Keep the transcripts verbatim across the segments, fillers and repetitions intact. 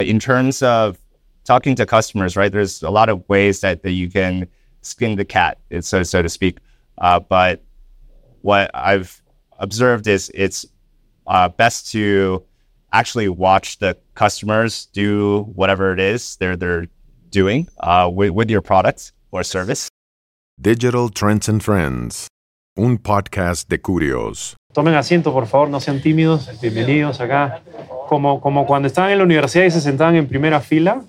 in terms of talking to customers, right, there's a lot of ways that, that you can skin the cat, so, so to speak. Uh, but what I've observed is it's uh, best to actually watch the customers do whatever it is they're, they're doing uh, with, with your product or service. Digital Trends and Friends, un podcast de Curios. Tomen asiento, por favor, no sean tímidos. Bienvenidos acá. Como, como cuando estaban en la universidad y se sentaban en primera fila.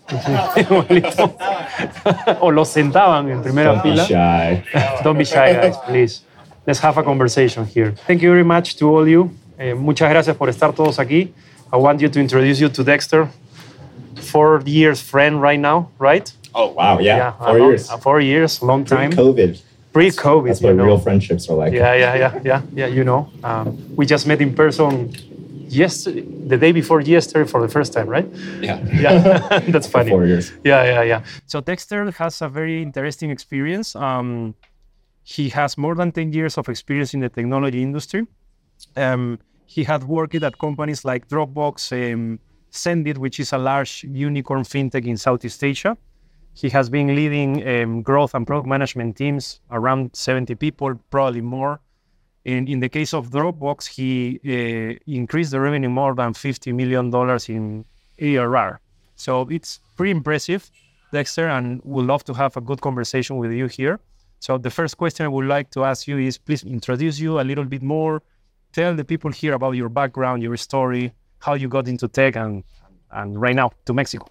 O los sentaban en primera Don't fila. Be shy. Don't be shy, guys, please. Let's have a conversation here. Thank you very much to all you. Eh, muchas gracias por estar todos aquí. I want you to introduce you to Dexter. Four years friend right now, right? Oh, wow. Yeah. Yeah, Four uh, years. Uh, four years, long time. Pre-COVID. Pre-COVID, That's you what know. real friendships are like. Yeah, yeah, yeah, yeah, yeah. You know, um, we just met in person yesterday, the day before yesterday for the first time, right? Yeah. Yeah, that's funny. Four years. Yeah, yeah, yeah. So Dexter has a very interesting experience. Um, he has more than ten years of experience in the technology industry. Um, he had worked at companies like Dropbox, um, Sendit, which is a large unicorn fintech in Southeast Asia. He has been leading um, growth and product management teams, around seventy people, probably more. In, in the case of Dropbox, he uh, increased the revenue more than fifty million dollars in A R R. So it's pretty impressive, Dexter, and would love to have a good conversation with you here. So the first question I would like to ask you is, please introduce you a little bit more. Tell the people here about your background, your story, how you got into tech, and, and right now to Mexico.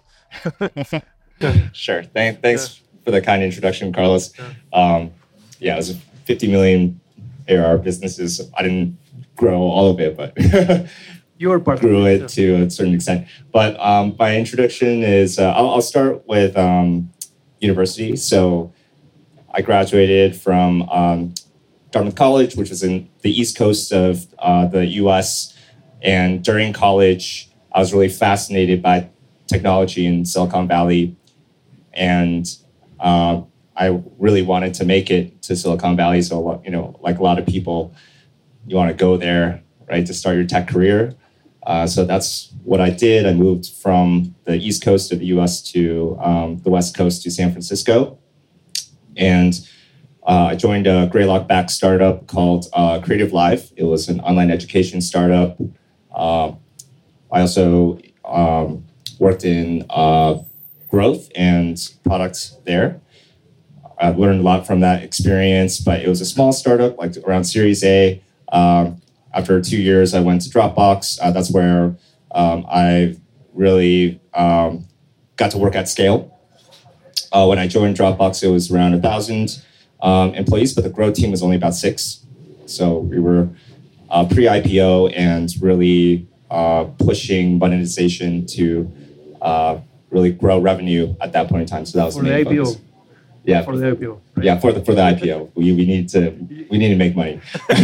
Sure. Thank, thanks for the kind introduction, Carlos. Um, yeah, it was fifty million A R R businesses. I didn't grow all of it, but You were part grew of it to a certain extent. But um, my introduction is, uh, I'll, I'll start with um, university. So I graduated from um, Dartmouth College, which was in the East Coast of uh, the U S. And during college, I was really fascinated by technology in Silicon Valley. And uh, I really wanted to make it to Silicon Valley. So, you know, like a lot of people, you want to go there, right, to start your tech career. Uh, so that's what I did. I moved from the East Coast of the U S to um, the West Coast to San Francisco. And uh, I joined a Greylock-backed startup called uh, Creative Live. It was an online education startup. Uh, I also um, worked in uh, growth and products there. I learned a lot from that experience, but it was a small startup, like around Series A. Um, after two years, I went to Dropbox. Uh, that's where um, I really um, got to work at scale. Uh, when I joined Dropbox, it was around a thousand um, employees, but the growth team was only about six. So we were uh, pre-I P O and really uh, pushing monetization to uh, really grow revenue at that point in time. So that was For the the main I P O. focus. Yeah, For the I P O. Right? yeah, for the for the I P O, we we need to we need to make money.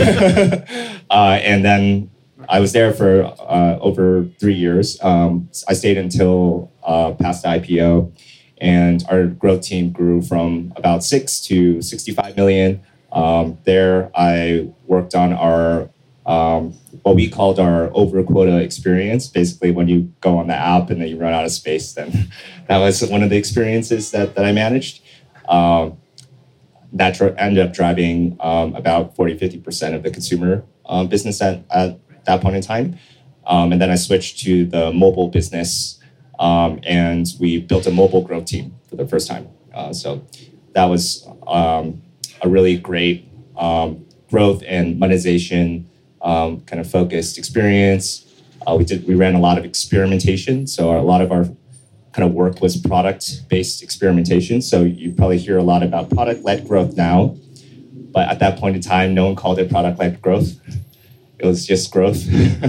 uh, and then I was there for uh, over three years. Um, I stayed until uh, past the I P O, and our growth team grew from about six to sixty-five million. Um, there, I worked on our um, what we called our over quota experience. Basically, when you go on the app and then you run out of space, then that was one of the experiences that that I managed. Um, that dr- ended up driving um, about forty, fifty percent of the consumer um, business at, at that point in time. Um, and then I switched to the mobile business, um, and we built a mobile growth team for the first time. Uh, so that was um, a really great um, growth and monetization um, kind of focused experience. Uh, we did we ran a lot of experimentation. So a lot of our kind of work was product-based experimentation. So you probably hear a lot about product-led growth now, but at that point in time, no one called it product-led growth. It was just growth.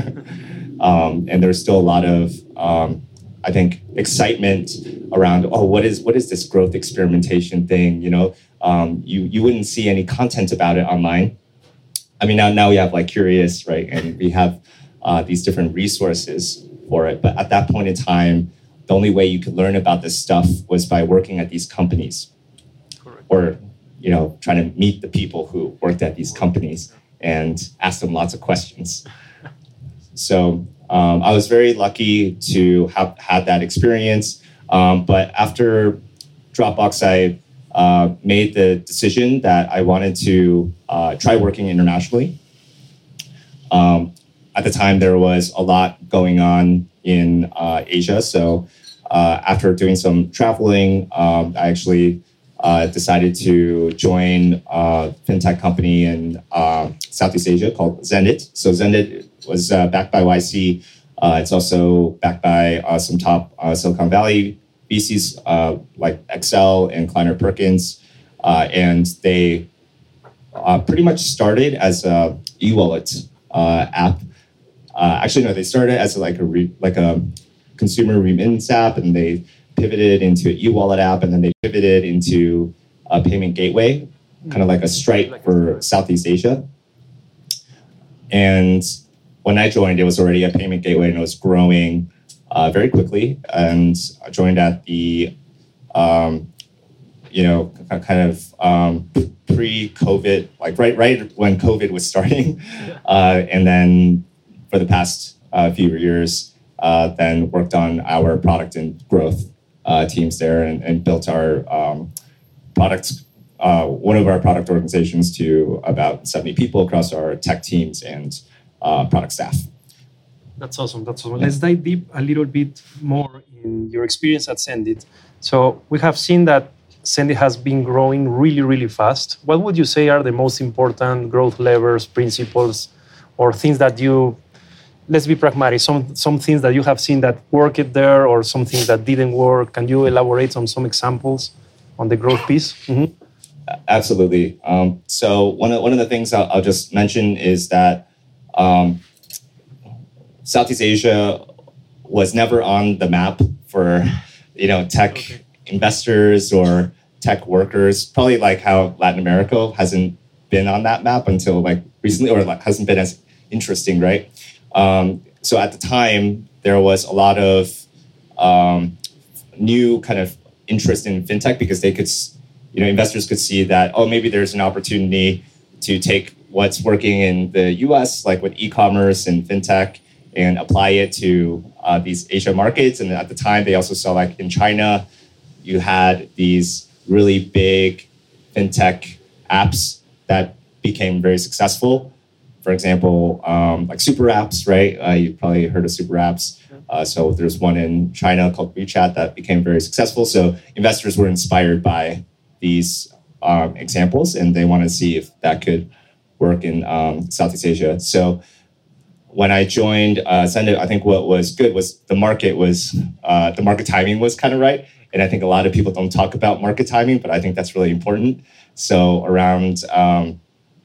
um, and there's still a lot of, um, I think, excitement around, oh, what is what is this growth experimentation thing? You know, um, you you wouldn't see any content about it online. I mean, now now we have like Curious, right? And we have uh, these different resources for it. But at that point in time, the only way you could learn about this stuff was by working at these companies. Correct. Or, you know, trying to meet the people who worked at these companies and ask them lots of questions. So Um, I was very lucky to have had that experience. Um, but after Dropbox, I uh, made the decision that I wanted to uh, try working internationally. Um, at the time, there was a lot going on in uh, Asia. So uh, after doing some traveling, um, I actually uh, decided to join a fintech company in uh, Southeast Asia called Zendit. So Zendit was uh, backed by Y C. Uh, it's also backed by uh, some top uh, Silicon Valley V Cs uh, like Excel and Kleiner Perkins. Uh, and they uh, pretty much started as a e-wallet uh, app. Uh, actually, no, they started as like a re- like a consumer remittance app, and they pivoted into an e-wallet app, and then they pivoted into a payment gateway, kind of like a Stripe for Southeast Asia. And when I joined, it was already a payment gateway, and it was growing uh, very quickly. And I joined at the, um, you know, kind of um, pre-COVID, like right right when COVID was starting, uh, and then for the past uh, few years, uh, then worked on our product and growth uh, teams there, and, and built our um, products. Uh, one of our product organizations to about seventy people across our tech teams and uh, product staff. That's awesome. That's awesome. Let's dive deep a little bit more in your experience at Zendit. So we have seen that Zendit has been growing really, really fast. What would you say are the most important growth levers, principles, or things that you, let's be pragmatic, some some things that you have seen that worked there or some things that didn't work? Can you elaborate on some examples on the growth piece? Mm-hmm. Absolutely. Um, so one of one of the things I'll, I'll just mention is that um, Southeast Asia was never on the map for, you know, tech okay. investors or tech workers. Probably like how Latin America hasn't been on that map until like recently, or like hasn't been as interesting, right? Um, so at the time, there was a lot of um, new kind of interest in fintech because they could. You know, investors could see that, oh, maybe there's an opportunity to take what's working in the U S, like with e-commerce and fintech, and apply it to uh, these Asia markets. And at the time, they also saw like in China, you had these really big fintech apps that became very successful. For example, um, like super apps, right? Uh, you've probably heard of super apps. Uh, so there's one in China called WeChat that became very successful. So investors were inspired by these um, examples, and they want to see if that could work in um, Southeast Asia. So when I joined uh, Zendit, I think what was good was the market was, uh, the market timing was kind of right. And I think a lot of people don't talk about market timing, but I think that's really important. So around um,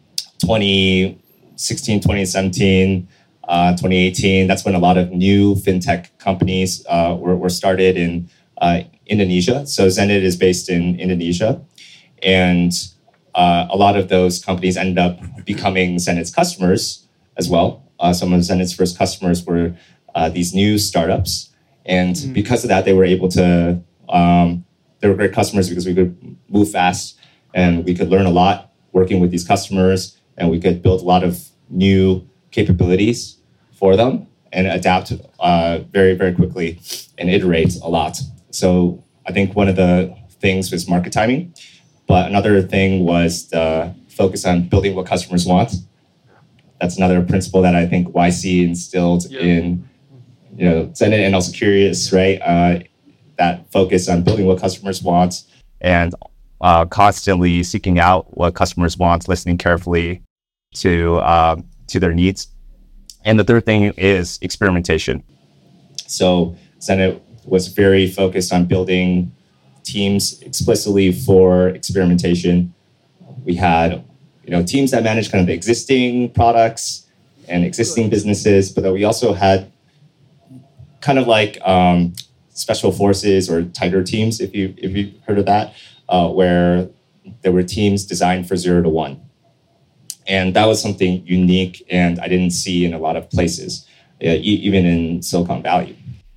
twenty sixteen, twenty seventeen, uh, twenty eighteen, that's when a lot of new fintech companies uh, were, were started in uh, Indonesia. So Zendit is based in Indonesia, and uh, a lot of those companies ended up becoming Zendit's customers as well. Uh, some of Zendit's first customers were uh, these new startups, and mm. because of that, they were able to. Um, they were great customers because we could move fast and we could learn a lot working with these customers, and we could build a lot of new capabilities for them and adapt uh, very, very quickly and iterate a lot. So I think one of the things was market timing, but another thing was the focus on building what customers want. That's another principle that I think Y C instilled yeah. in, you know, Zendit, and also Curious, right? Uh, that focus on building what customers want and uh, constantly seeking out what customers want, listening carefully to uh, to their needs. And the third thing is experimentation. So Zendit was very focused on building teams explicitly for experimentation. We had, you know, teams that managed kind of the existing products and existing businesses, but then we also had kind of like um, special forces or tighter teams, if you if you heard of that, uh, where there were teams designed for zero to one, and that was something unique, and I didn't see in a lot of places, uh, e- even in Silicon Valley.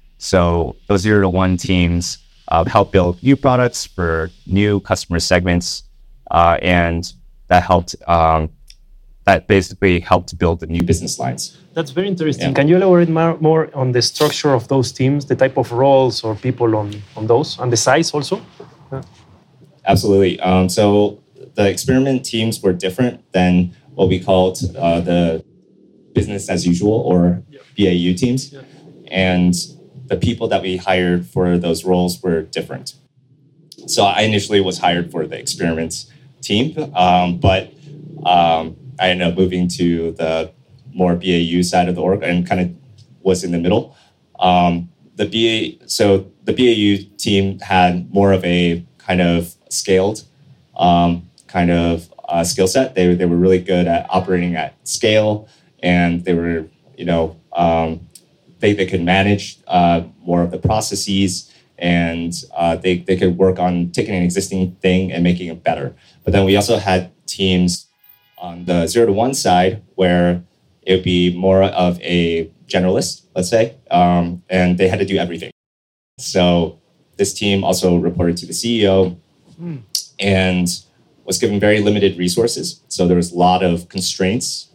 So those zero to one teams uh, help build new products for new customer segments, uh, and that helped um, that basically helped build the new business lines. That's very interesting. Yeah. Can you elaborate more, more on the structure of those teams, the type of roles or people on, on those, and the size also? Yeah. Absolutely. Um, so the experiment teams were different than what we called uh, the business as usual or yeah. B A U teams. Yeah. And the people that we hired for those roles were different. So I initially was hired for the experiments team, um, but um, I ended up moving to the more B A U side of the org and kind of was in the middle. Um, the B A so the B A U team had more of a kind of scaled um, kind of uh, skill set. They they were really good at operating at scale, and they were you know um, they they could manage uh, more of the processes. And uh, they, they could work on taking an existing thing and making it better. But then we also had teams on the zero to one side where it would be more of a generalist, let's say, um, and they had to do everything. So this team also reported to the C E O mm. and was given very limited resources. So there was a lot of constraints,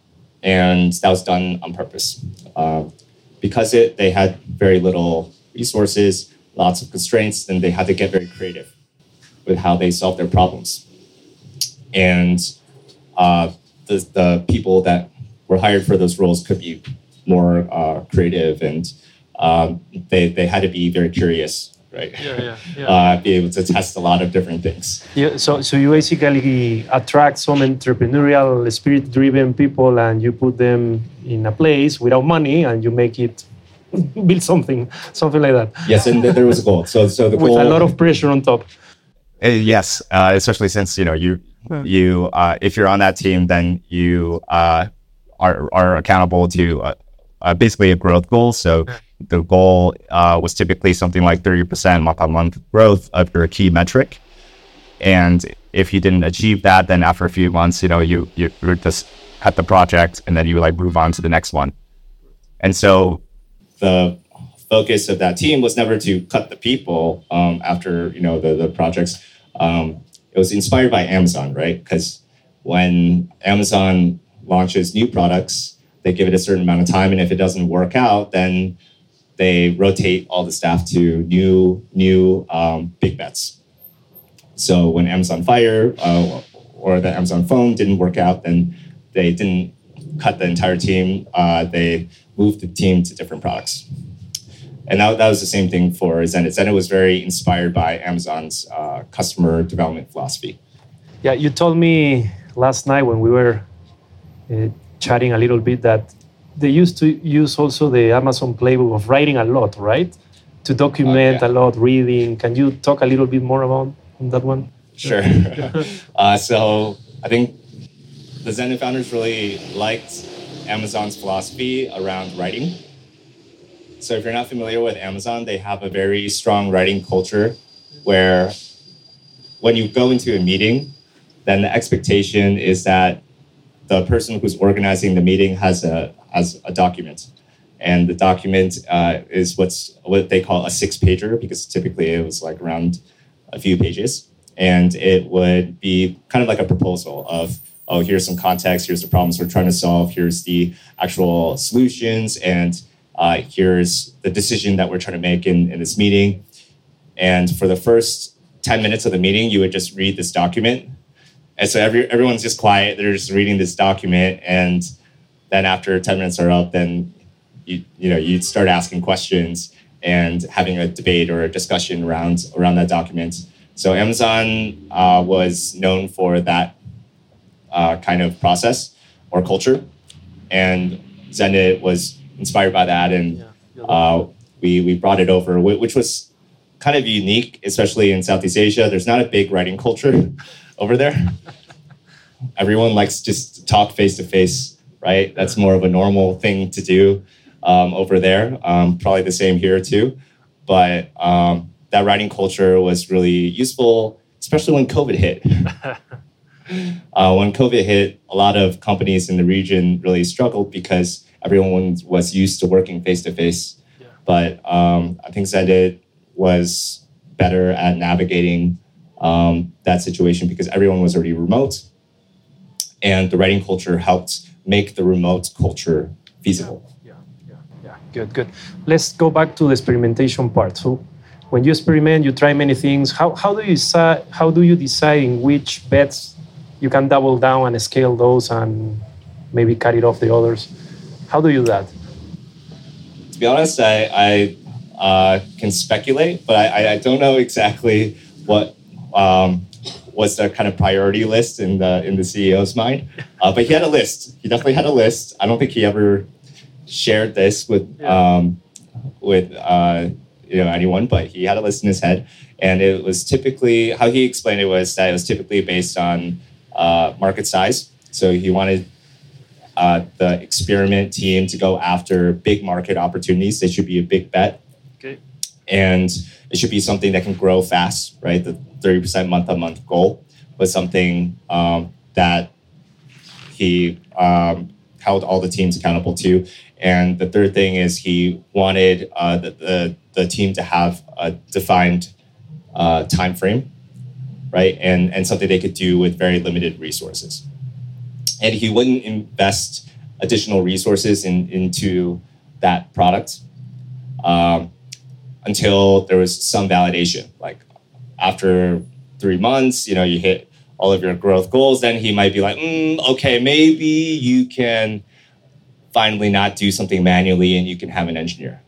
and that was done on purpose. Uh, because it they had very little resources, lots of constraints, and they had to get very creative with how they solve their problems. And uh, the, the people that were hired for those roles could be more uh, creative, and um, they, they had to be very curious, right? Yeah, yeah, yeah. Uh, be able to test a lot of different things. Yeah, so, so you basically attract some entrepreneurial, spirit-driven people, and you put them in a place without money, and you make it build something, something like that. Yes, and there was a goal. So, so the with goal, a lot of pressure on top. Uh, yes, uh, especially since you know you you uh, if you're on that team, then you uh, are are accountable to uh, uh, basically a growth goal. So the goal uh, was typically something like thirty percent month on month growth of your key metric, and if you didn't achieve that, then after a few months, you know you you were just at the project, and then you like move on to the next one, and so. The focus of that team was never to cut the people um, after you know the the projects. Um, it was inspired by Amazon, right? Because when Amazon launches new products, they give it a certain amount of time, and if it doesn't work out, then they rotate all the staff to new new um, big bets. So when Amazon Fire uh, or the Amazon phone didn't work out, then they didn't cut the entire team. Uh, they moved the team to different products. And that, that was the same thing for Zenit. Zenit was very inspired by Amazon's uh, customer development philosophy. Yeah, you told me last night when we were uh, chatting a little bit that they used to use also the Amazon playbook of writing a lot, right? To document uh, yeah. a lot, reading. Can you talk a little bit more about that one? Sure. uh, so I think the Zenit founders really liked Amazon's philosophy around writing. So if you're not familiar with Amazon, they have a very strong writing culture where when you go into a meeting, then the expectation is that the person who's organizing the meeting has a has a document. And the document uh, is what's what they call a six-pager, because typically it was like around a few pages. And it would be kind of like a proposal of, oh, here's some context, here's the problems we're trying to solve, here's the actual solutions, and uh, here's the decision that we're trying to make in, in this meeting. And for the first ten minutes of the meeting, you would just read this document. And so every, everyone's just quiet, they're just reading this document, and then after ten minutes are up, then you you know you'd start asking questions and having a debate or a discussion around around that document. So Amazon uh, was known for that uh, kind of process or culture, and Zenit was inspired by that, and uh, we we brought it over, which was kind of unique, especially in Southeast Asia. There's not a big writing culture over there. Everyone likes just to talk face to face, right? That's more of a normal thing to do um, over there. Um, probably the same here too. But um, that writing culture was really useful, especially when COVID hit. uh, when COVID hit, a lot of companies in the region really struggled because everyone was used to working face to face. But um, I think Zenit was better at navigating um, that situation because everyone was already remote. and the writing culture helped make the remote culture feasible. Yeah, yeah, yeah. Good, good. Let's go back to the experimentation part. So, when you experiment, you try many things. How how do you decide? How do you decide in which bets you can double down and scale those, and maybe cut it off the others? How do you do that? To be honest, I, I uh, can speculate, but I, I don't know exactly what um, was the kind of priority list in the in the C E O's mind. Uh, but he had a list. He definitely had a list. I don't think he ever shared this with um, with uh, you know anyone, but he had a list in his head, and it was typically how he explained it was that it was typically based on uh, market size. So he wanted Uh, the experiment team to go after big market opportunities. They should be a big bet. Okay. And it should be something that can grow fast, right? The thirty percent month-on-month goal was something um, that he um, held all the teams accountable to. And the third thing is he wanted uh, the, the, the team to have a defined uh, time frame, right? And, and something they could do with very limited resources. And he wouldn't invest additional resources in, into that product um, until there was some validation. Like after three months, you know, you hit all of your growth goals, then he might be like, mm, okay, maybe you can finally not do something manually and you can have an engineer.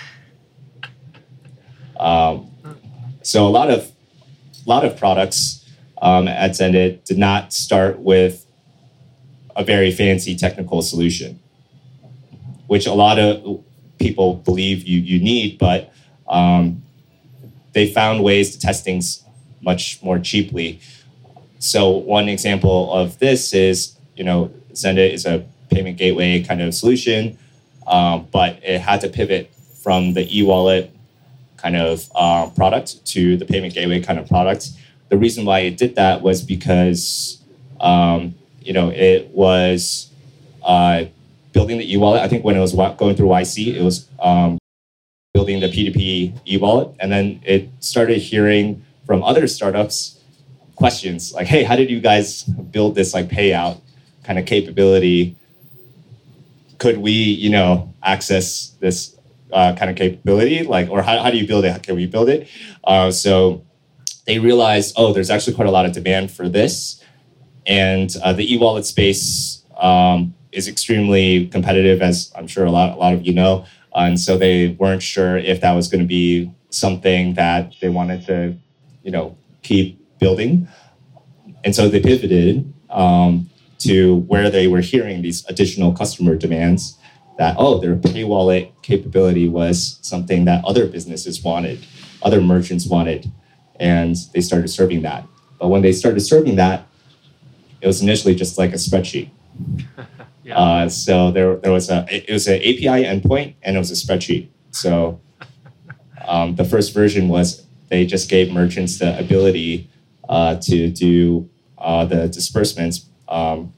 um, so a lot of, a lot of products um, at Zendit did not start with a very fancy technical solution, which a lot of people believe you, you need, but um, they found ways to test things much more cheaply. So one example of this is, you know, Zendit is a payment gateway kind of solution, um, but it had to pivot from the e-wallet kind of uh, product to the payment gateway kind of product. The reason why it did that was because um, you know, it was uh, building the e-wallet. I think when it was going through Y C, it was um, building the P two P e-wallet. And then it started hearing from other startups questions like, hey, how did you guys build this like payout kind of capability? Could we, you know, access this uh, kind of capability? Like, or how, how do you build it? Can we build it? Uh, so they realized, oh, there's actually quite a lot of demand for this. And uh, the e-wallet space um, is extremely competitive, as I'm sure a lot, a lot of you know. Uh, and so they weren't sure if that was going to be something that they wanted to, you know, keep building. And so they pivoted um, to where they were hearing these additional customer demands that, oh, their pay wallet capability was something that other businesses wanted, other merchants wanted. And they started serving that. But when they started serving that, it was initially just like a spreadsheet. yeah. uh, so there, there was a it was an A P I endpoint and it was a spreadsheet. So um, the first version was they just gave merchants the ability uh, to do uh, the disbursements um,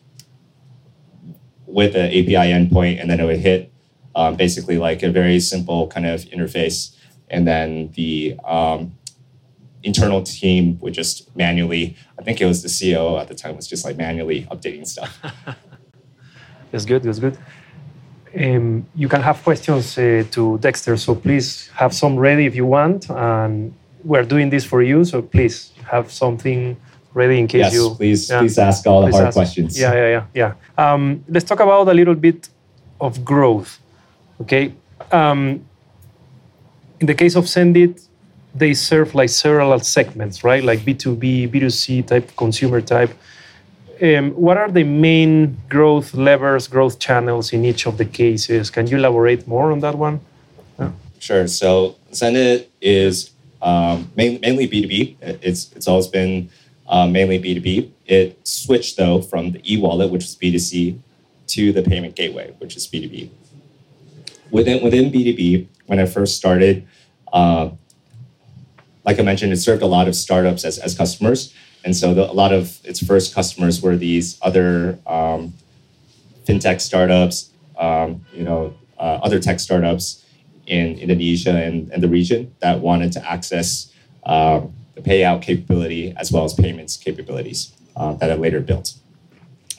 with an A P I endpoint, and then it would hit um, basically like a very simple kind of interface, and then the um, internal team would just manually, I think it was the C E O at the time, was just like manually updating stuff. That's good, that's good. Um, you can have questions uh, to Dexter, so please have some ready if you want. And we're doing this for you, so please have something ready in case yes, you... Yes, please, yeah, please ask all the hard ask. questions. Yeah, yeah, yeah. yeah. Um, let's talk about a little bit of growth, okay? Um, in the case of Zendit, they serve like several segments, right? Like B two B, B two C type, consumer type. Um, what are the main growth levers, growth channels in each of the cases? Can you elaborate more on that one? Yeah. Sure. So Zendit is um, main, mainly B two B. It's it's always been uh, mainly B two B. It switched though from the e-wallet, which is B two C, to the payment gateway, which is B two B. Within within B two B, when I first started, uh, like I mentioned, it served a lot of startups as, as customers. And so the, a lot of its first customers were these other um, fintech startups, um, you know, uh, other tech startups in Indonesia and, and the region that wanted to access um, the payout capability as well as payments capabilities uh, that I later built.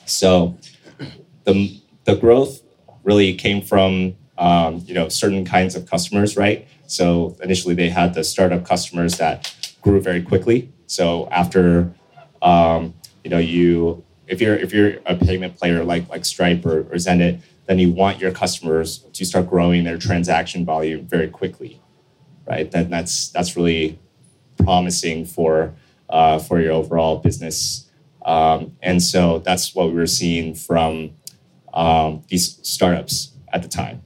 So the the growth really came from um, you know certain kinds of customers, right? So initially they had the startup customers that grew very quickly. So after um, you know you if you're if you're a payment player like like Stripe or, or Zenit, then you want your customers to start growing their transaction volume very quickly, right? Then that's that's really promising for uh, for your overall business. Um, and so that's what we were seeing from um, these startups at the time.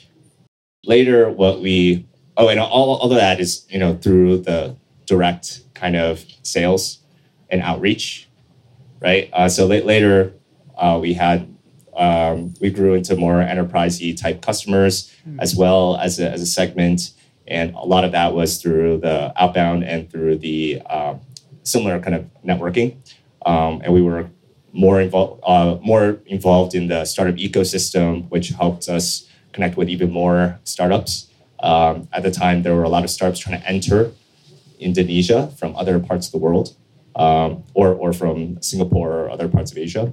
Later, what we, oh, and all, all of that is, you know, through the direct kind of sales and outreach, right? Uh, so la- later, uh, we had, um, we grew into more enterprise-y type customers mm. as well as a, as a segment. And a lot of that was through the outbound and through the uh, similar kind of networking. Um, and we were more involved, uh, more involved in the startup ecosystem, which helped us connect with even more startups. Um, at the time, there were a lot of startups trying to enter Indonesia from other parts of the world, um, or or from Singapore or other parts of Asia.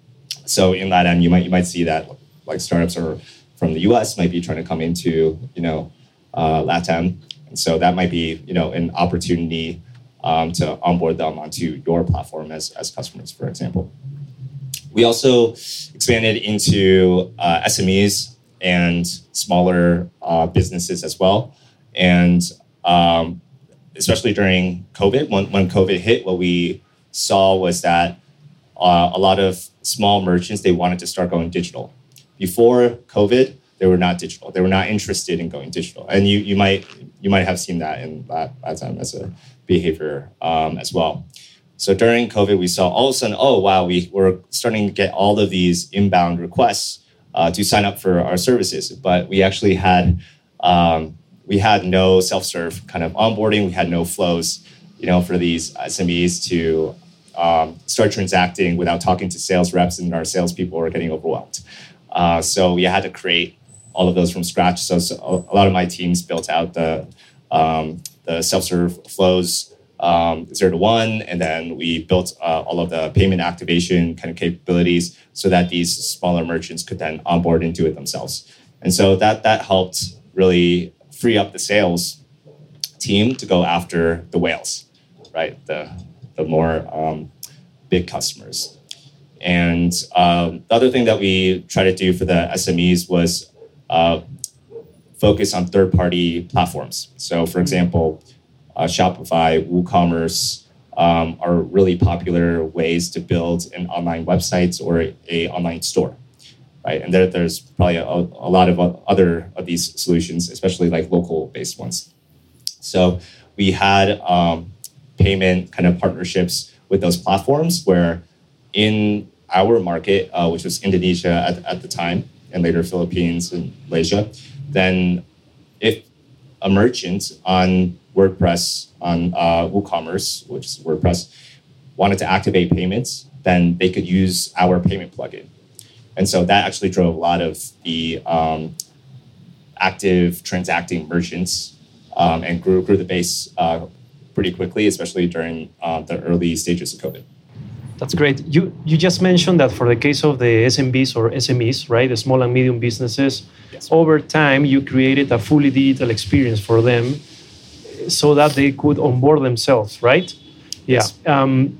So in that end, you might you might see that like startups are from the U S might be trying to come into you know uh, LATAM, and so that might be you know an opportunity. Um, to onboard them onto your platform as, as customers, for example. We also expanded into uh, S M Es and smaller uh, businesses as well. And um, especially during COVID, when, when COVID hit, what we saw was that uh, a lot of small merchants, they wanted to start going digital. Before COVID, they were not digital. They were not interested in going digital. And you you might you might have seen that in that, that time as a behavior um, as well. So during COVID, we saw all of a sudden, oh, wow, we were starting to get all of these inbound requests uh, to sign up for our services. But we actually had, um, we had no self-serve kind of onboarding. We had no flows, you know, for these S M Es to um, start transacting without talking to sales reps, and our salespeople were getting overwhelmed. Uh, so we had to create all of those from scratch. So, so a lot of my teams built out the um, the self-serve flows um, zero to one, and then we built uh, all of the payment activation kind of capabilities so that these smaller merchants could then onboard and do it themselves. And so that that helped really free up the sales team to go after the whales, right? The the more um, big customers. And um, the other thing that we try to do for the S M Es was uh, focus on third-party platforms. So, for example, uh, Shopify, WooCommerce um, are really popular ways to build an online website or a, a online store, right? And there, there's probably a, a lot of other of these solutions, especially like local-based ones. So we had um, payment kind of partnerships with those platforms where in our market, uh, which was Indonesia at, at the time, and later Philippines and Malaysia, then if a merchant on WordPress, on uh, WooCommerce, which is WordPress, wanted to activate payments, then they could use our payment plugin. And so that actually drove a lot of the um, active transacting merchants um, and grew, grew the base uh, pretty quickly, especially during uh, the early stages of COVID. That's great. You you just mentioned that for the case of the S M Bs or S M Es, right, the small and medium businesses, yes. Over time you created a fully digital experience for them so that they could onboard themselves, right? Yes. Yeah. Um,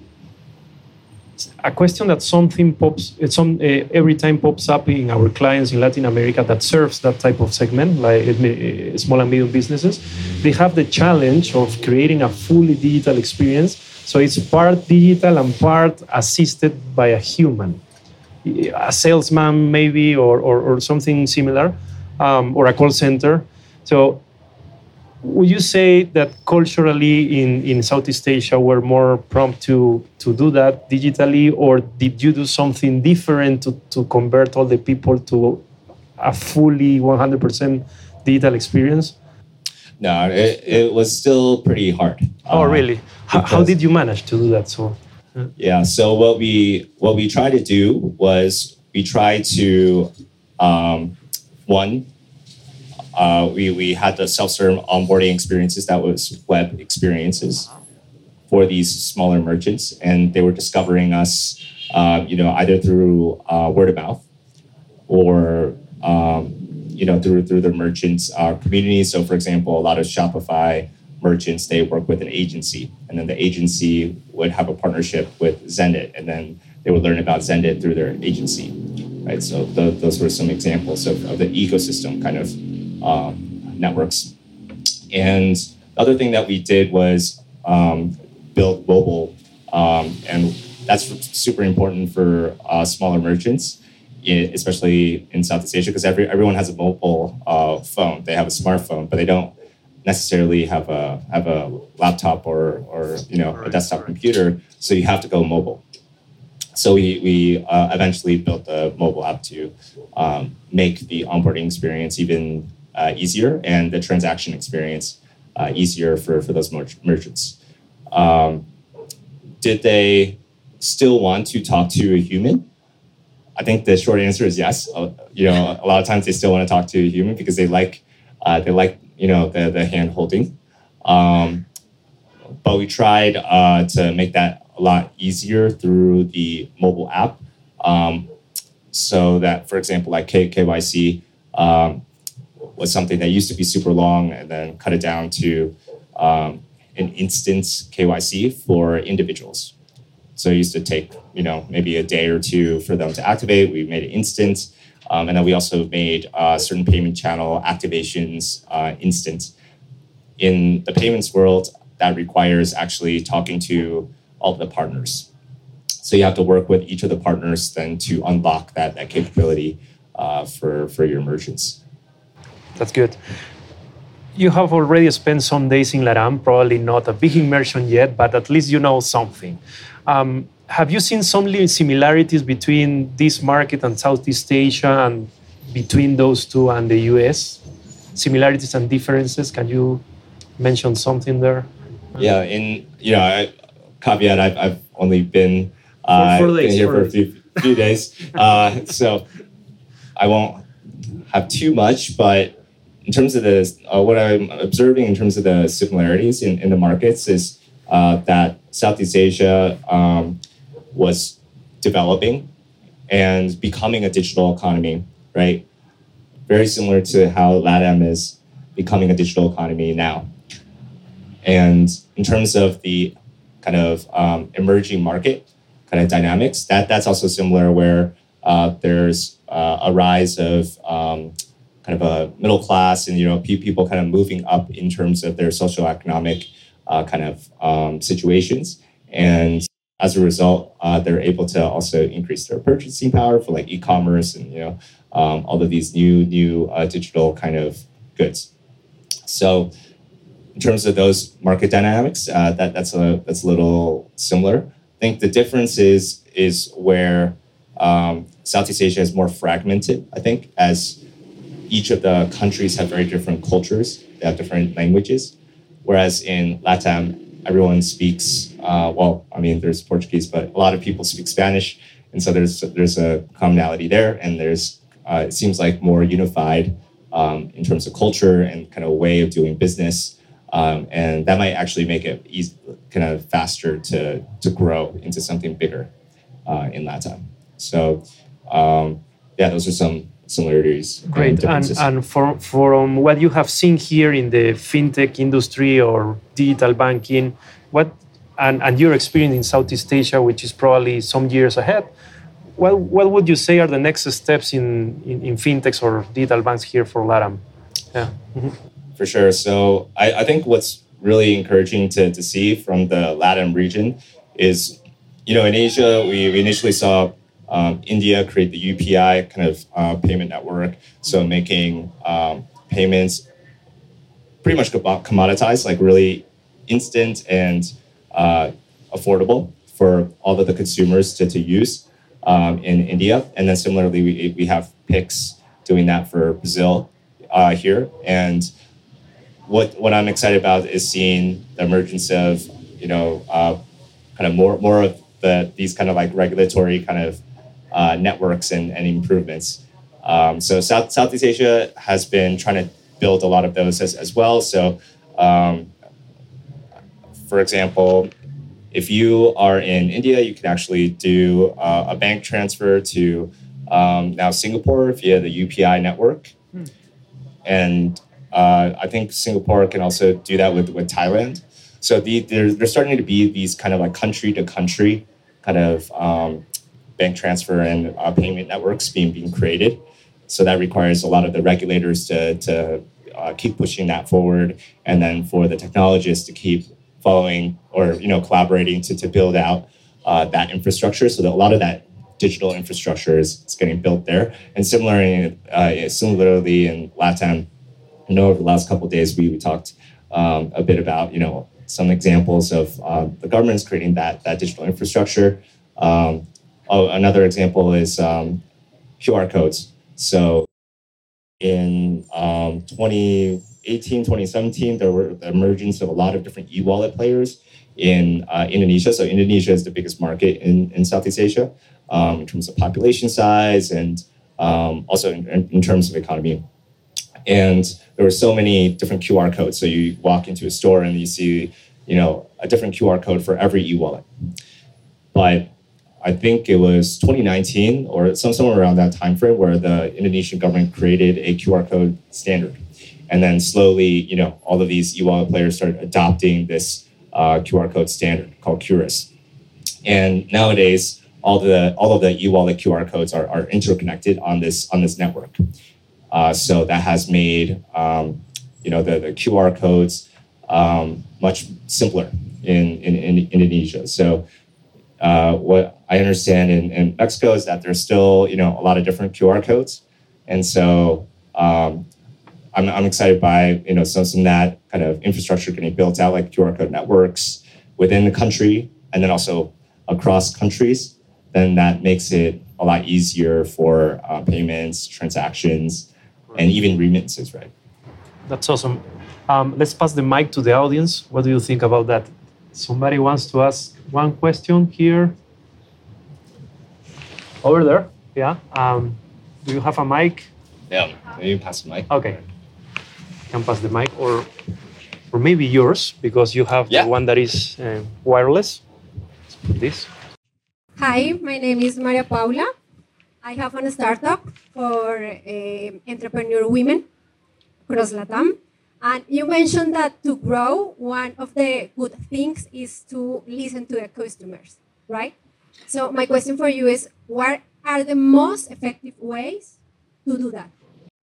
a question that something pops, some uh, every time pops up in our clients in Latin America that serves that type of segment, like uh, small and medium businesses, they have the challenge of creating a fully digital experience. So it's part digital and part assisted by a human, a salesman maybe, or or, or something similar, um, or a call center. So would you say that culturally in, in Southeast Asia we're more prompt to, to do that digitally, or did you do something different to, to convert all the people to a fully one hundred percent digital experience? No, it, it was still pretty hard. Oh, really? How, how did you manage to do that? So, yeah. yeah. So what we what we tried to do was we tried to um, one. Uh, we we had the self-serve onboarding experiences that was web experiences for these smaller merchants, and they were discovering us um, you know, either through uh, word of mouth or um, you know through through the merchants uh, community. So, for example, a lot of Shopify merchants, they work with an agency, and then the agency would have a partnership with Zendit, and then they would learn about Zendit through their agency, right? So the, those were some examples of, of the ecosystem kind of um, networks. And the other thing that we did was um, build mobile, um, and that's super important for uh, smaller merchants, especially in Southeast Asia, because every everyone has a mobile uh, phone. They have a smartphone, but they don't necessarily have a have a laptop or or you know a desktop computer. So you have to go mobile. So we we uh, eventually built the mobile app to um, make the onboarding experience even uh, easier and the transaction experience uh, easier for for those mer- merchants. Um, did they still want to talk to a human? I think the short answer is yes. Uh, you know, a lot of times they still want to talk to a human because they like uh, they like you know the the hand holding. Um, but we tried uh, to make that a lot easier through the mobile app, um, so that, for example, like K- KYC um, was something that used to be super long, and then cut it down to um, an instant K Y C for individuals. So it used to take, you know, maybe a day or two for them to activate. We made it instant. Um, and then we also made uh, certain payment channel activations uh, instant. In the payments world, that requires actually talking to all of the partners. So you have to work with each of the partners then to unlock that, that capability uh, for, for your merchants. That's good. You have already spent some days in LATAM, probably not a big immersion yet, but at least you know something. Um, have you seen some similarities between this market and Southeast Asia and between those two and the U S? Similarities and differences, can you mention something there? Yeah, in, you know, I, caveat, I've, I've only been, uh, for, for days, been here for, for a few, few days. Uh, so I won't have too much, but in terms of the, uh, what I'm observing in terms of the similarities in, in the markets is uh, that Southeast Asia um, was developing and becoming a digital economy, right? Very similar to how LATAM is becoming a digital economy now. And in terms of the kind of um, emerging market kind of dynamics, that that's also similar, where uh, there's uh, a rise of um, kind of a middle class, and you know people kind of moving up in terms of their socioeconomic uh, kind of um, situations, and as a result, uh, they're able to also increase their purchasing power for like e-commerce and you know um, all of these new new uh, digital kind of goods. So, in terms of those market dynamics, uh, that that's a that's a little similar. I think the difference is is where um, Southeast Asia is more fragmented. I think as each of the countries have very different cultures, they have different languages, whereas in LATAM, everyone speaks, uh, well, I mean, there's Portuguese, but a lot of people speak Spanish, and so there's there's a commonality there, and there's, uh, it seems like more unified um, in terms of culture and kind of way of doing business, um, and that might actually make it easy, kind of faster to, to grow into something bigger uh, in LATAM. So, um, yeah, those are some similarities. Great. And, and, and for, from what you have seen here in the fintech industry or digital banking, what and, and your experience in Southeast Asia, which is probably some years ahead, what, what would you say are the next steps in, in, in fintechs or digital banks here for LATAM? Yeah. Mm-hmm. For sure. So I, I think what's really encouraging to, to see from the LATAM region is, you know, in Asia, we, we initially saw Um, India create the U P I kind of uh, payment network, so making um, payments pretty much commoditized, like really instant and uh, affordable for all of the consumers to, to use um, in India. And then similarly, we, we have Pix doing that for Brazil uh, here. And what what I'm excited about is seeing the emergence of, you know, uh, kind of more more of the these kind of like regulatory kind of Uh, networks and, and improvements. Um, so South, Southeast Asia has been trying to build a lot of those as, as well. So, um, for example, if you are in India, you can actually do uh, a bank transfer to um, now Singapore via the U P I network. Hmm. And uh, I think Singapore can also do that with, with Thailand. So the, there's, there's starting to be these kind of like country to country kind of um, bank transfer and uh, payment networks being, being created. So that requires a lot of the regulators to, to uh, keep pushing that forward, and then for the technologists to keep following or you know collaborating to, to build out uh, that infrastructure. So that a lot of that digital infrastructure is, is getting built there. And similarly, uh, similarly in LATAM, I know over the last couple of days we, we talked um, a bit about you know some examples of uh, the governments creating that that digital infrastructure. Um, oh, another example is um, Q R codes. So in um, twenty eighteen, twenty seventeen, there were the emergence of a lot of different e-wallet players in uh, Indonesia. So Indonesia is the biggest market in, in Southeast Asia um, in terms of population size and um, also in, in terms of economy. And there were so many different Q R codes. So you walk into a store and you see, you know, a different Q R code for every e-wallet. But I think it was twenty nineteen or some, somewhere around that time frame where the Indonesian government created a Q R code standard. And then slowly, you know, all of these e-wallet players started adopting this uh, Q R code standard called Q R I S. And nowadays, all the all of the e-wallet Q R codes are, are interconnected on this on this network. Uh, so that has made um, you know the, the Q R codes um, much simpler in, in, in Indonesia. So uh, what I understand in, in Mexico is that there's still you know a lot of different Q R codes, and so um, I'm I'm excited by you know some some of that kind of infrastructure getting built out, like Q R code networks within the country and then also across countries. Then that makes it a lot easier for uh, payments, transactions, and even remittances, right? That's awesome. Um, let's pass the mic to the audience. What do you think about that? Somebody wants to ask one question here. Over there, yeah. Um, do you have a mic? Yeah, maybe pass the mic. Okay, can pass the mic, or or maybe yours because you have yeah. the one that is uh, wireless. Let's put this. Hi, my name is Maria Paula. I have a startup for uh, entrepreneur women across LATAM. And you mentioned that to grow, one of the good things is to listen to the customers, right? So my question for you is, what are the most effective ways to do that?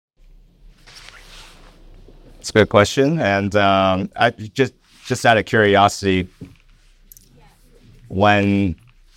It's a good question. And um, I just just out of curiosity, when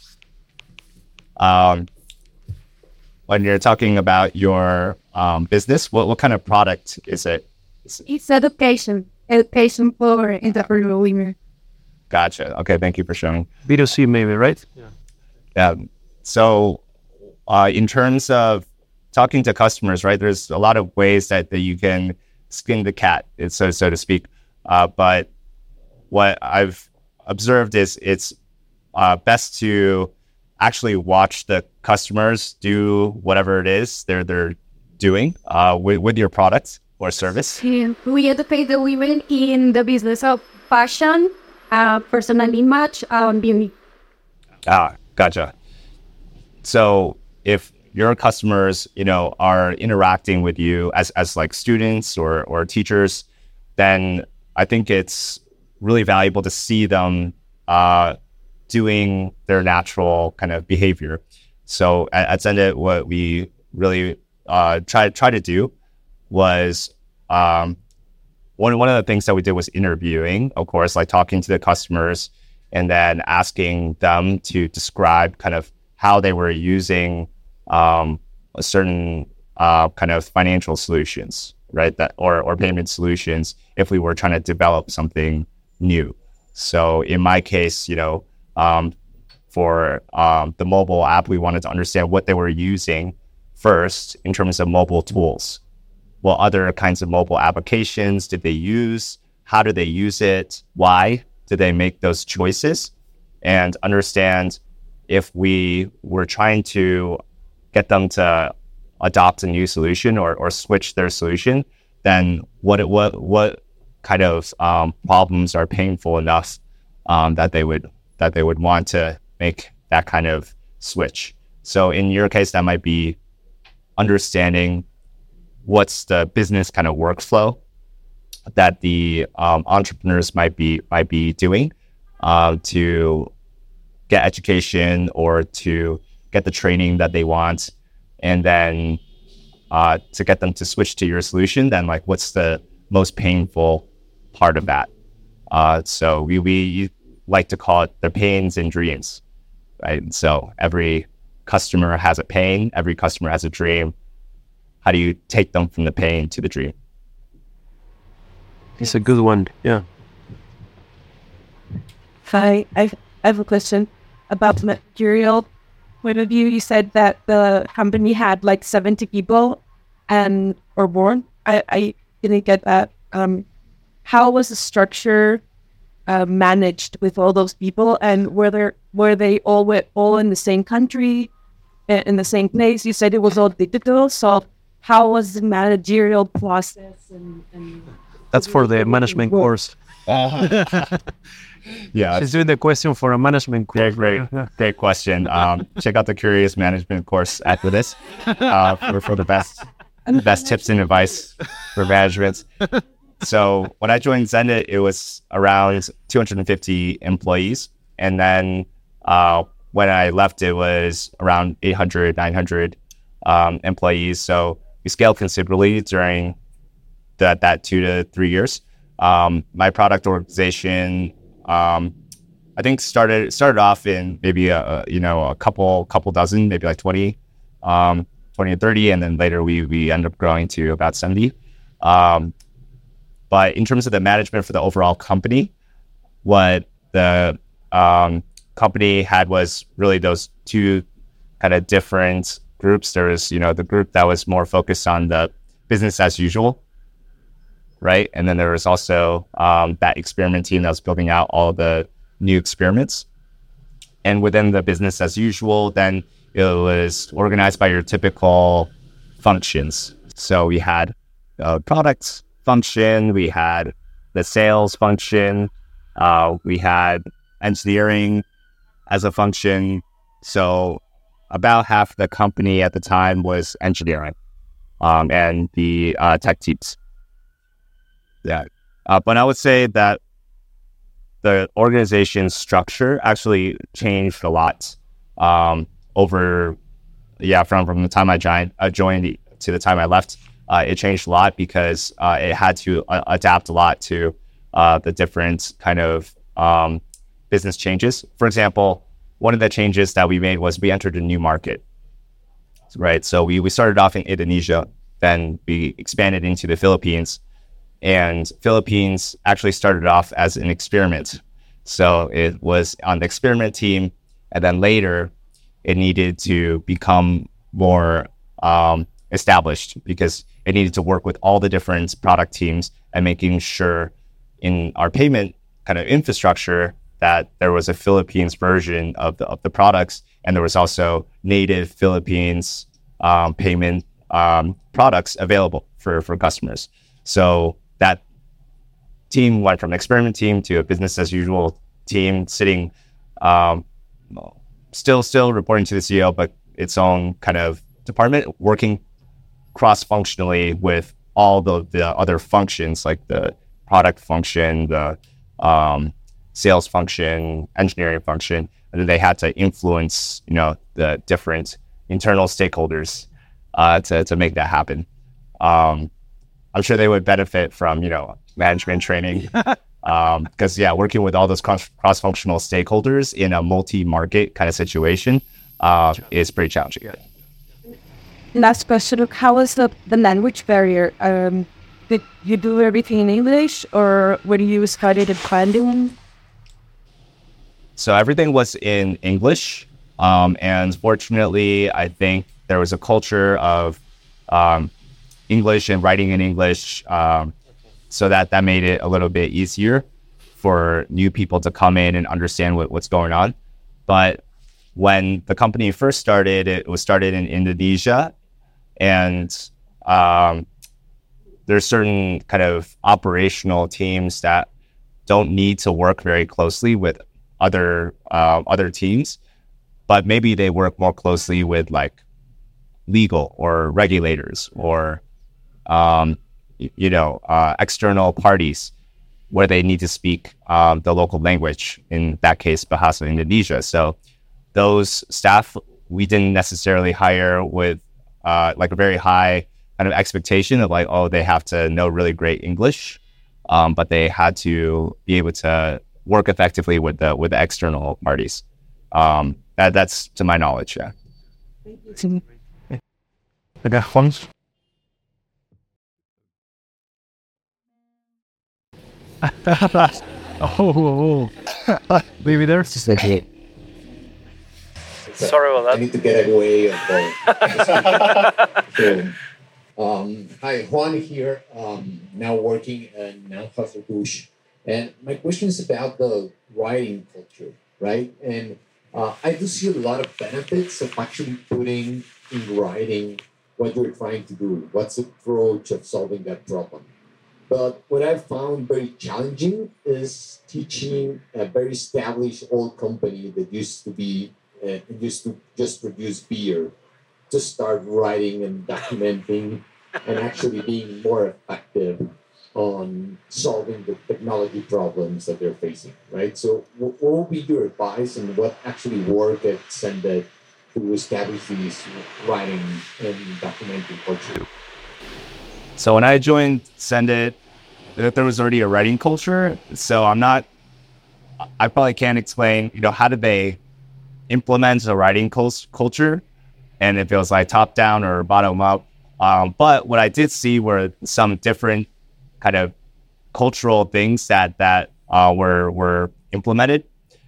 um, when you're talking about your um, business, what, what kind of product is it? It's education, education for entrepreneur women. Gotcha. Okay, thank you for sharing. B two C maybe, right? Yeah. Yeah. So uh, in terms of talking to customers, right, there's a lot of ways that, that you can skin the cat, so, so to speak. Uh, but what I've observed is it's uh, best to actually watch the customers do whatever it is they're, they're doing uh, with, with your product or service. We educate the women in the business of fashion, uh, personal image, and beauty. Ah, gotcha. So if your customers, you know, are interacting with you as, as like students or, or teachers, then I think it's really valuable to see them uh, doing their natural kind of behavior. So at, at Zendesk, what we really uh, try, try to do was um, one, one of the things that we did was interviewing, of course, like talking to the customers and then asking them to describe kind of how they were using um, a certain uh, kind of financial solutions, right? That or, or payment solutions if we were trying to develop something new. So in my case, you know, um, for um, the mobile app, we wanted to understand what they were using first in terms of mobile tools. What other kinds of mobile applications did they use? How did they use it? Why did they make those choices? And understand if we were trying to get them to adopt a new solution or, or switch their solution, then what it, what what kind of um, problems are painful enough um, that they would that they would want to make that kind of switch. So in your case, that might be understanding what's the business kind of workflow that the um, entrepreneurs might be might be doing uh, to get education or to get the training that they want, and then uh, to get them to switch to your solution. Then, like, what's the most painful part of that? Uh, so we we like to call it the pains and dreams, right? And so every customer has a pain, every customer has a dream. How do you take them from the pain to the dream? It's a good one. Yeah. Hi, I've, I have a question about the material point of view. You said that the company had like seventy people and or more. I, I didn't get that. Um, how was the structure uh, managed with all those people, and were there were they all wi- all in the same country, i- in the same place? You said it was all digital. So how was the managerial process? And, and That's for the management course. Yeah, She's doing the question for a management course. great, great, great question. Um, check out the Curious Management course after this uh, for, for the best best tips and advice for management. So when I joined Zenit, it was around two hundred fifty employees. And then uh, when I left, it was around eight hundred, nine hundred um, employees. So we scaled considerably during that, that two to three years. Um, my product organization, um, I think started started off in maybe a, a you know a couple couple dozen, maybe like twenty, um, twenty or thirty, and then later we we ended up growing to about seventy. Um, but in terms of the management for the overall company, what the um, company had was really those two kind of different groups. There was you know the group that was more focused on the business as usual, right? And then there was also um, that experiment team that was building out all the new experiments. And within the business as usual, then it was organized by your typical functions. So we had a product function, we had the sales function, uh, we had engineering as a function. So about half the company at the time was engineering um, and the uh, tech teams. Yeah, uh, but I would say that the organization structure actually changed a lot um, over, yeah, from, from the time I joined, uh, joined to the time I left. Uh, it changed a lot because uh, it had to uh, adapt a lot to uh, the different kind of um, business changes. For example, one of the changes that we made was we entered a new market, right? So we, we started off in Indonesia, then we expanded into the Philippines. And Philippines actually started off as an experiment. So it was on the experiment team, and then later it needed to become more um, established because it needed to work with all the different product teams and making sure in our payment kind of infrastructure that there was a Philippines version of the of the products, and there was also native Philippines um, payment um, products available for, for customers. So that team went from an experiment team to a business as usual team, sitting um, still still reporting to the C E O, but its own kind of department, working cross-functionally with all the, the other functions like the product function, the um, sales function, engineering function, and then they had to influence, you know, the different internal stakeholders uh, to to make that happen. Um, I'm sure they would benefit from, you know, management training um, because, yeah, working with all those cross, cross-functional stakeholders in a multi-market kind of situation uh, is pretty challenging. Last question, how was the, the language barrier? Um, did you do everything in English, or were you studied in Mandarin? So everything was in English. Um, and fortunately, I think there was a culture of um, English and writing in English. Um, so that, that made it a little bit easier for new people to come in and understand what, what's going on. But when the company first started, it was started in Indonesia. And um, there's certain kind of operational teams that don't need to work very closely with other uh, other teams, but maybe they work more closely with like legal or regulators or um, you know uh, external parties where they need to speak um, the local language. In that case, Bahasa Indonesia. So those staff we didn't necessarily hire with uh, like a very high kind of expectation of like, oh, they have to know really great English, um, but they had to be able to work effectively with the with the external parties. Um, that, that's to my knowledge, yeah. Okay, Juan. oh, oh, oh. Maybe there's just like it. Sorry about that. I need to get away of the. so, um, hi, Juan here. Um, now working in Anheuser-Busch, and my question is about the writing culture, right? And uh, I do see a lot of benefits of actually putting in writing what you're trying to do. What's the approach of solving that problem? But what I found very challenging is teaching a very established old company that used to be uh, used to just produce beer to start writing and documenting and actually being more effective on solving the technology problems that they're facing, right? So what will be your advice and what actually worked at Sendit to establish these writing and documenting culture? So when I joined Sendit, there was already a writing culture. So I'm not, I probably can't explain, you know, how did they implement a writing cult- culture and if it was like top down or bottom up. Um, but what I did see were some different kind of cultural things that, that uh, were, were implemented.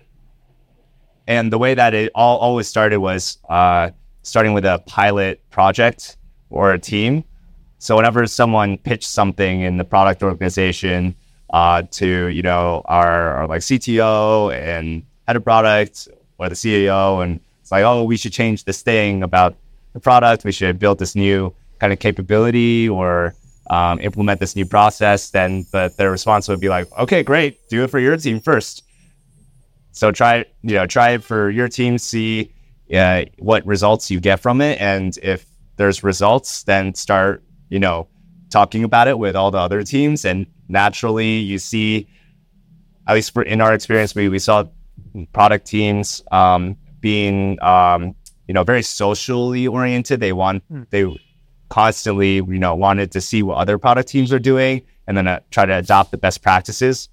And the way that it all always started was uh, starting with a pilot project or a team. So whenever someone pitched something in the product organization uh, to, you know, our, our like C T O and head of product or the C E O, and it's like, oh, we should change this thing about the product. We should build this new kind of capability or um, implement this new process. Then the, the response would be like, okay, great, do it for your team first. So try, you know, try it for your team, see uh, what results you get from it. And if there's results, then start, you know, talking about it with all the other teams. And naturally you see, at least for, in our experience, we, we saw product teams um, being, um, you know, very socially oriented. They want, mm. they constantly, you know, wanted to see what other product teams are doing and then uh, try to adopt the best practices.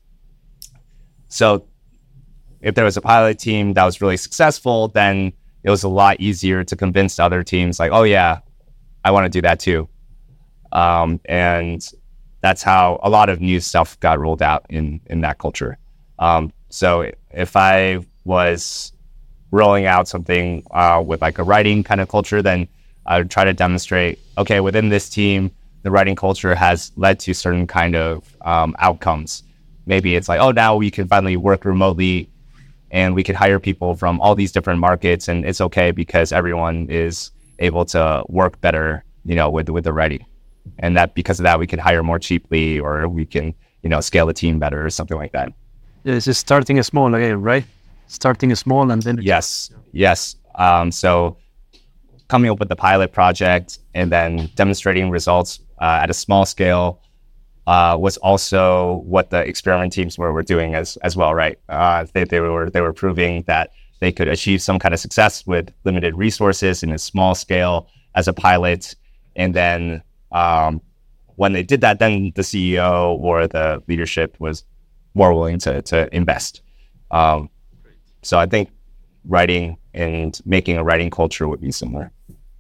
So if there was a pilot team that was really successful, then it was a lot easier to convince the other teams like, oh yeah, I want to do that too. Um, and that's how a lot of new stuff got rolled out in, in that culture. Um, so if I was rolling out something uh, with like a writing kind of culture, then I would try to demonstrate, okay, within this team, the writing culture has led to certain kind of um, outcomes. Maybe it's like, oh, now we can finally work remotely and we could hire people from all these different markets, and it's okay because everyone is able to work better, you know, with with the writing. And that because of that, we can hire more cheaply, or we can, you know, scale the team better or something like that. Yeah, it's just starting small again, right? Starting small and then... Yes, yes. Um, so coming up with the pilot project and then demonstrating results uh, at a small scale uh, was also what the experiment teams were, were doing as as well, right? Uh, they, they were they were proving that they could achieve some kind of success with limited resources in a small scale as a pilot. And then um, when they did that, then the C E O or the leadership was more willing to to invest. Um, so I think writing and making a writing culture would be similar.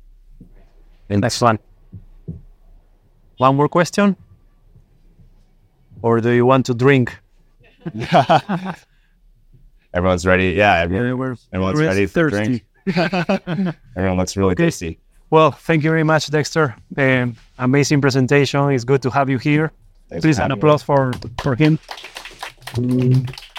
Next one. One more question? Or do you want to drink? Everyone's ready. Yeah, everyone, yeah we're, everyone's we're ready to thirsty. drink. Everyone looks really okay. thirsty. Well, thank you very much, Dexter. Um, amazing presentation. It's good to have you here. Thanks Please, an applause for, for him. Mm.